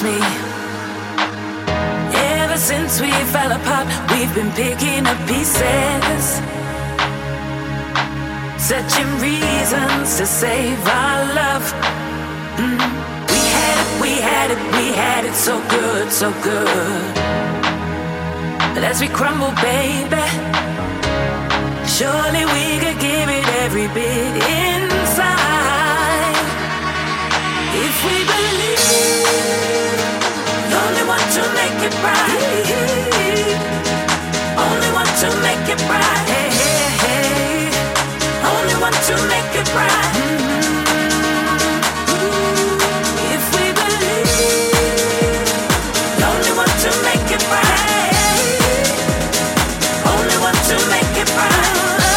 reminds me. Ever since we fell apart, we've been picking up pieces, searching reasons to save our love. We had it so good, so good. But as we crumble, baby, surely we could give it every bit inside. If we believe, only want to make it right, only want to make it right, only want to make it right. If we believe, only want to make it right, only want to make it right,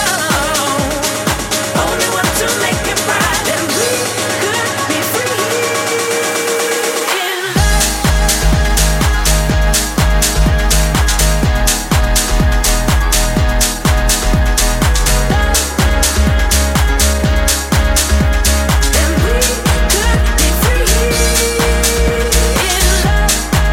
only want to make it right, then we could be free in love. Then we could be free in love.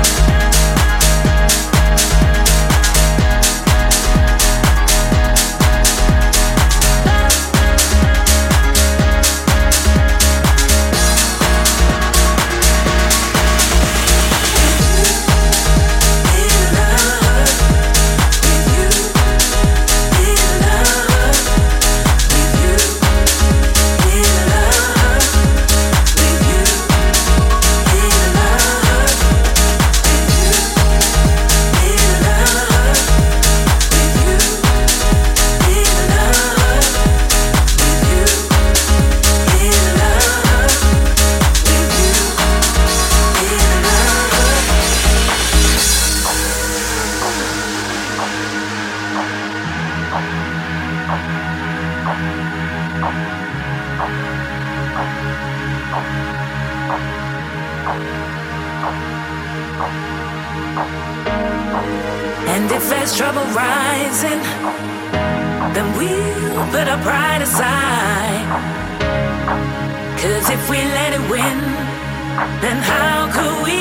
And if there's trouble rising, then we'll put our pride aside. 'Cause if we let it win, then how could we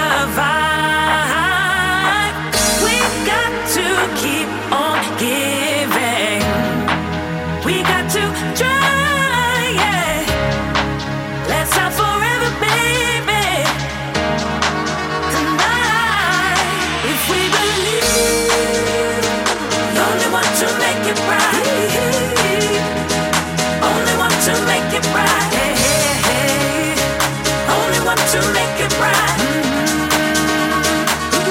survive? We've got to keep on giving. We got to try, yeah. Let's not forever, baby. Tonight, if we believe, only want to make it right, only want to make it right, only want to make it right.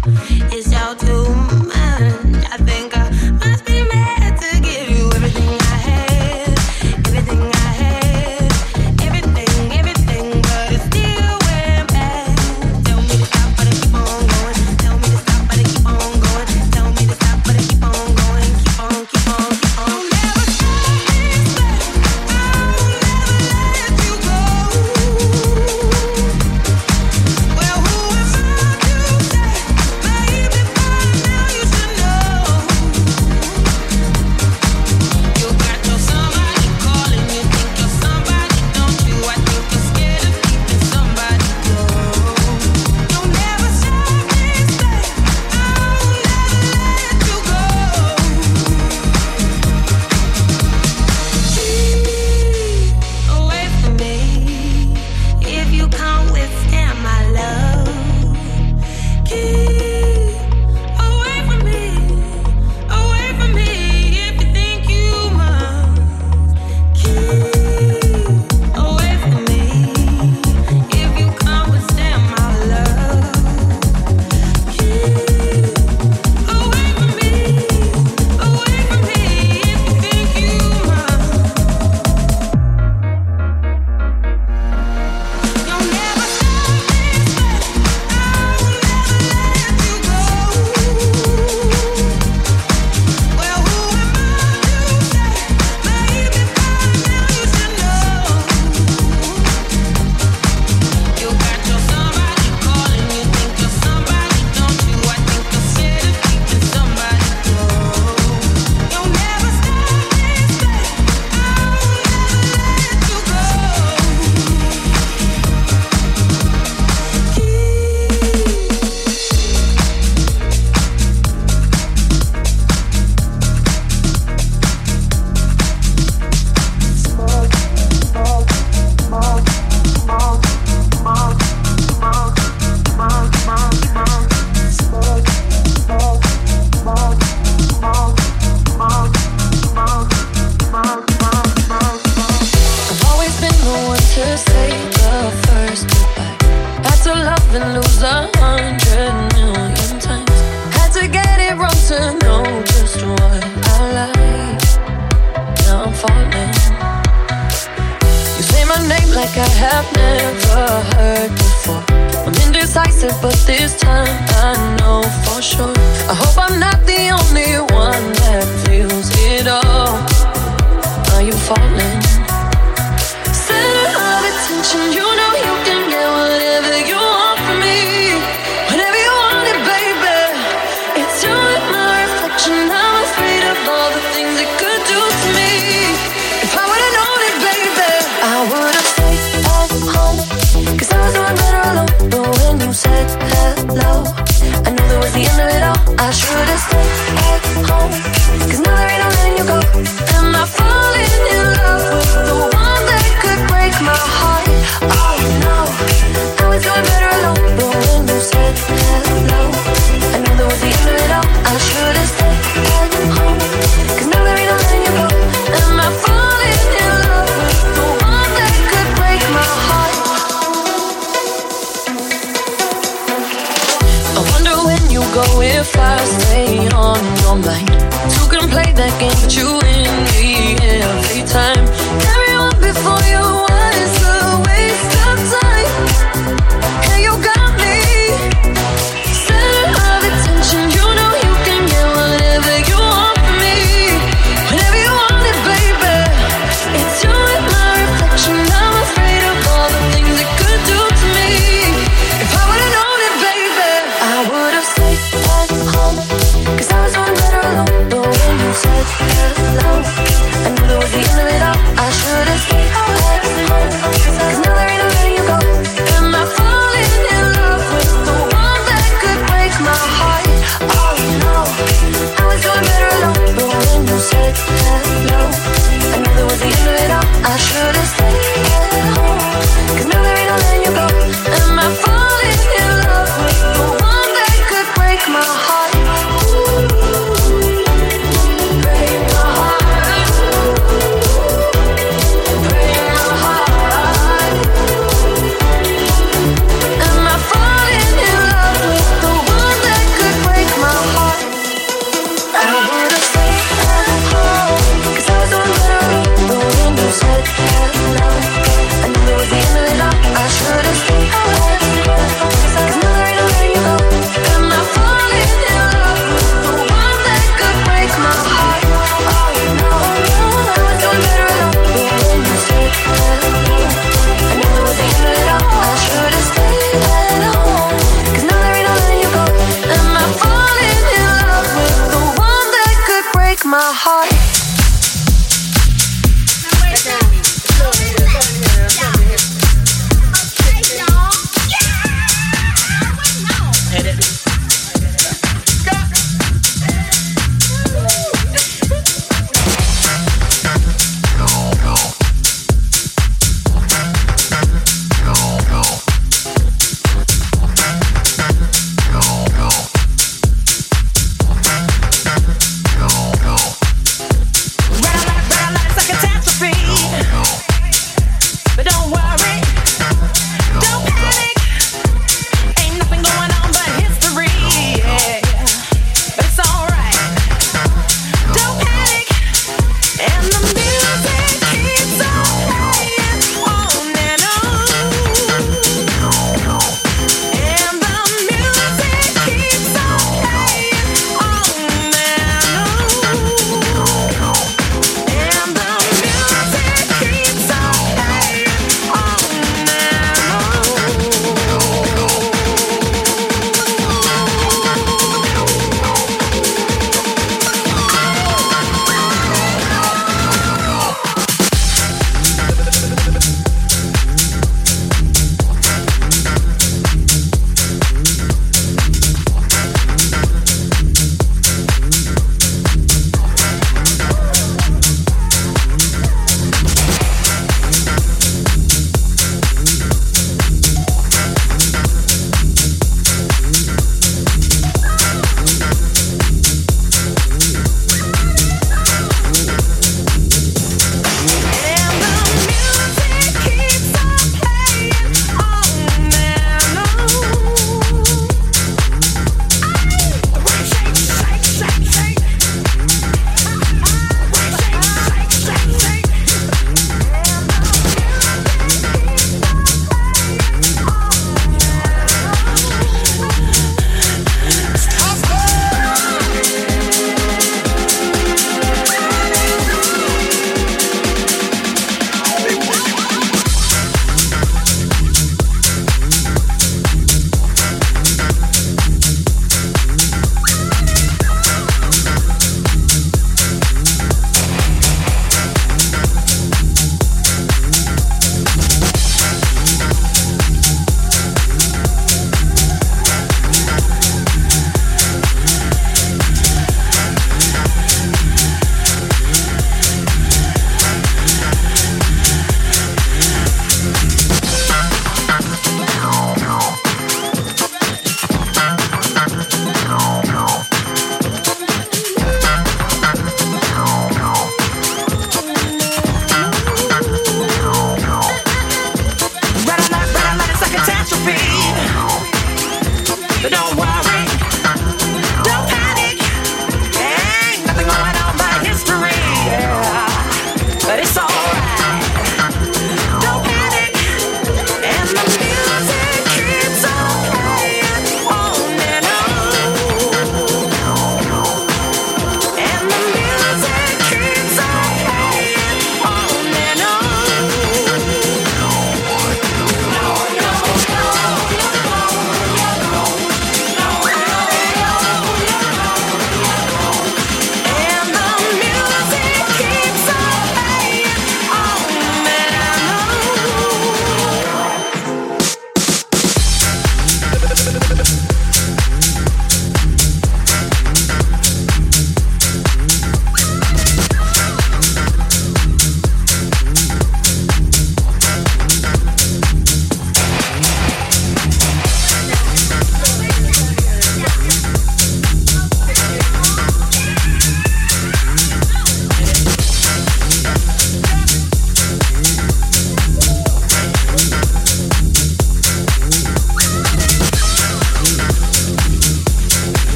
It's all too much. I think I must be mad to give you everything I have, everything I have, everything, but it still went bad. Tell me to stop, but I keep on going. Tell me to stop, but I keep on going. Tell me to stop, but I keep on going. Keep on, keep on, keep on. I'll never stop this way. I'll never let you go. Well, who am I to say, baby, by now you should know. You got your somebody calling, you think you're somebody, don't you? I think you're scared of keeping somebody go. You'll never stop this way. I'll never let you go. Keep away from me if you can't withstand my love. Keep away from me if you think you must. Keep away from me if you can't withstand my love. Keep away from me if you think you must. You'll never stop this way. I'll never let you go. Well, who am I to say, baby, by now you should know. You got your somebody calling, you think you're somebody, don't you? I think you're scared of keeping somebody go. You'll never stop this way. I'll never let you go. I've always been the one to say the first goodbye. Had to love and lose 100,000,000 times. Had to get it wrong to know just what I like. Now I'm falling. You say my name like I have never heard before. I'm indecisive, but this time I know for sure. I hope I'm not the only one that feels it all. Are you falling? Center of attention, you know you can get whatever you want from me. Whenever you want it, baby. It's you and my reflection. I'm afraid of all the things it could do to me. If I would've known it, baby, I would've stayed at home. 'Cause I was doing better alone. But when you said hello, I knew that was the end of it all. I should've stayed at home. 'Cause now there ain't no letting you go. Am I falling in love with the one that could break my heart? Oh no, I was doing better alone. But when you said hello, I knew that was the end of it all. I should've stayed at home. 'Cause now there ain't no letting you go. Am I falling in love with the one that could break my heart? I wonder when you go if I stay on your mind. Two can play that game, but you win me every time. Everyone before you was a waste of time. And you got me. Center of attention, you know you can get whatever you want from me. Whenever you want it, baby. It's you and my reflection. I'm afraid of all the things it could do to me. If I would've known it, baby, I would've stayed at home. 'Cause I was doing better alone. But when you said hello, I knew that was the end of it all. I should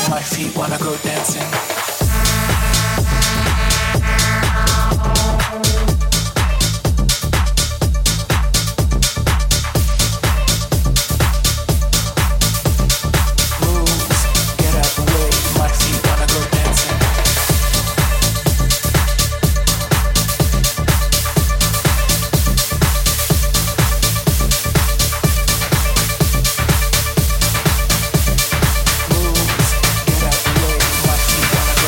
my feet wanna go dancing. Get out the way, my feet wanna go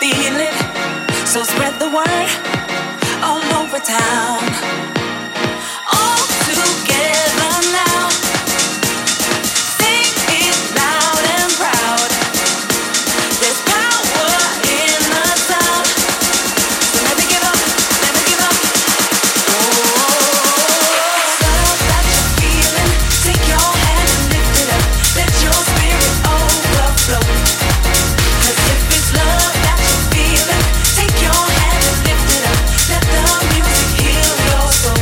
feel it. So spread the word all over town. All together now. Sing it loud and proud. There's power in the sound. So never give up, never give up. Love that you're feeling. Take your hand and lift it up. Let your spirit overflow. 'Cause if it's love that you're feeling, take your hand and lift it up. Let the music heal your soul.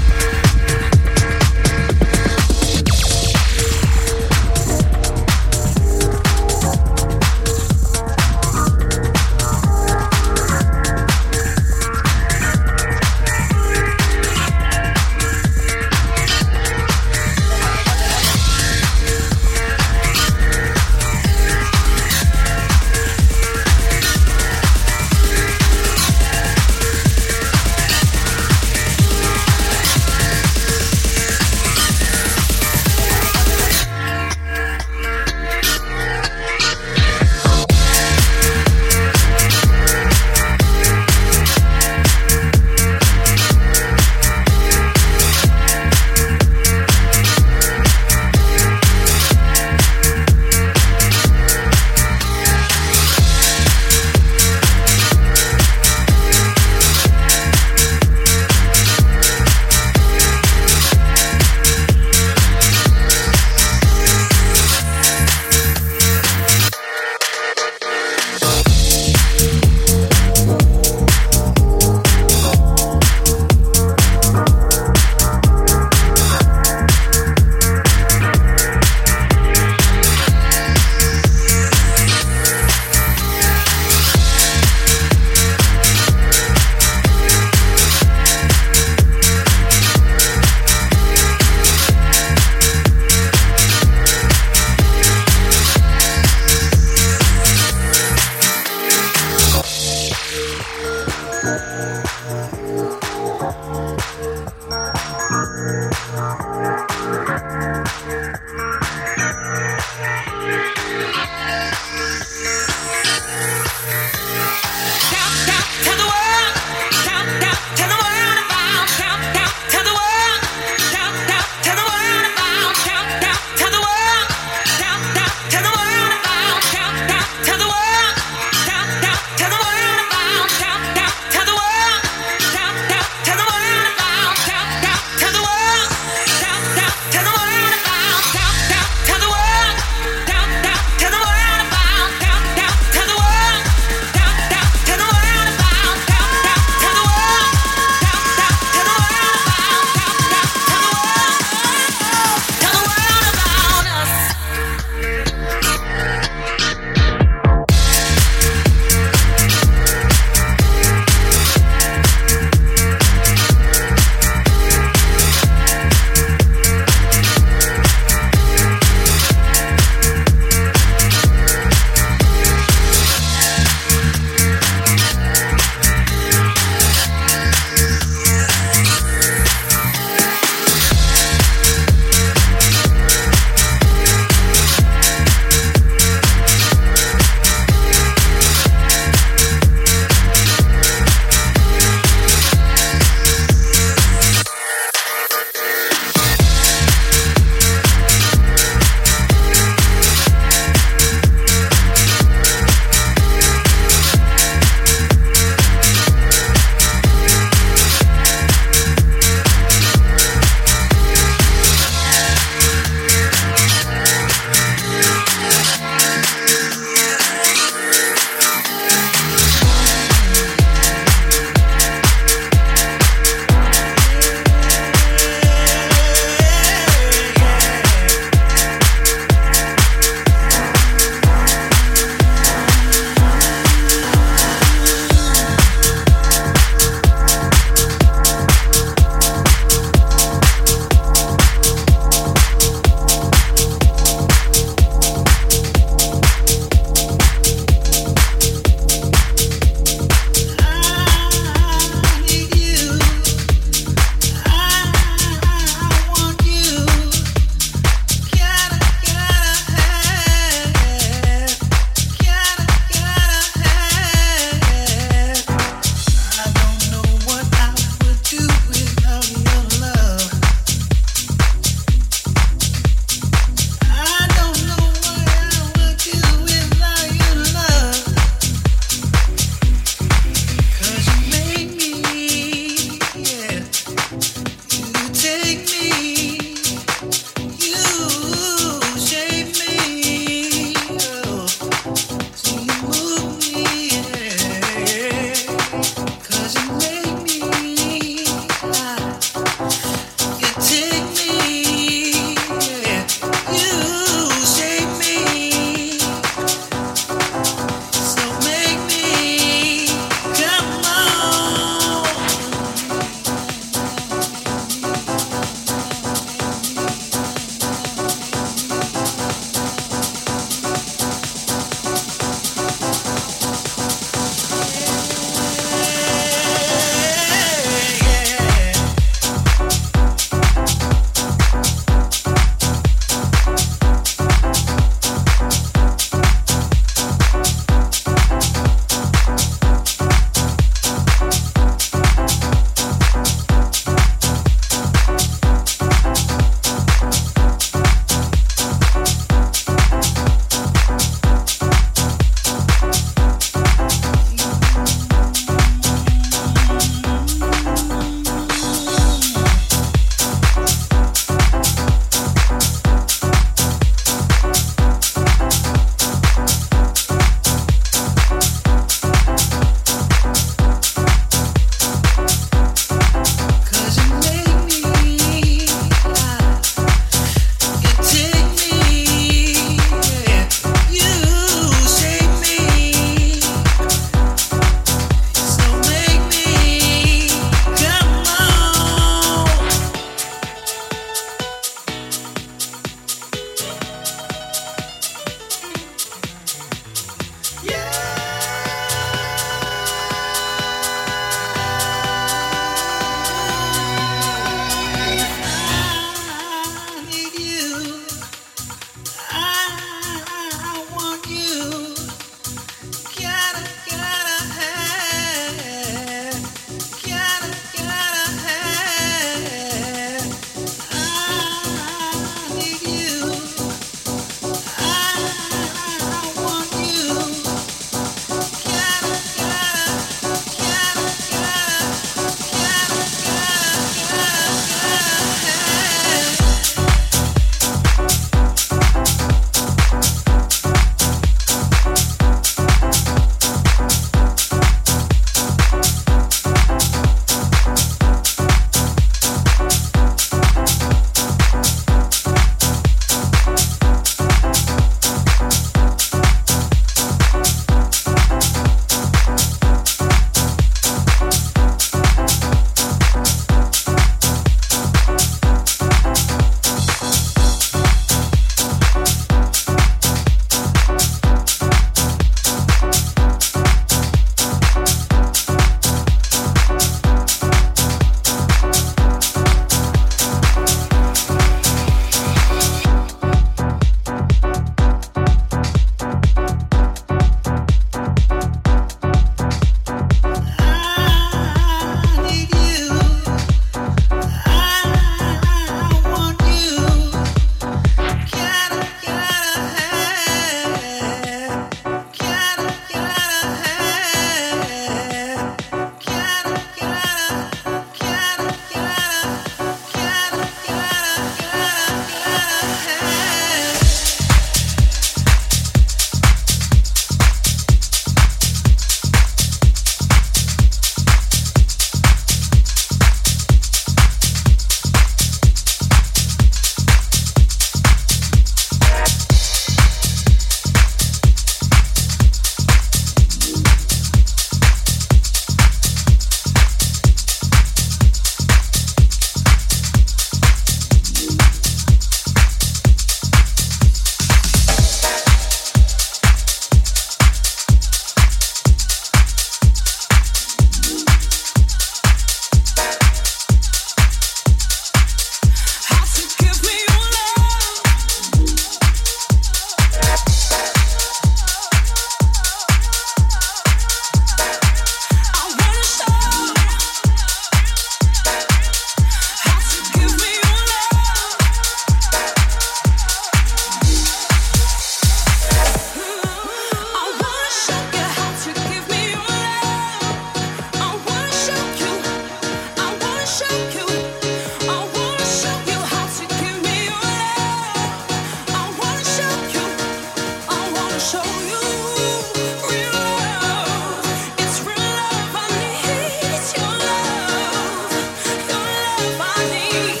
me.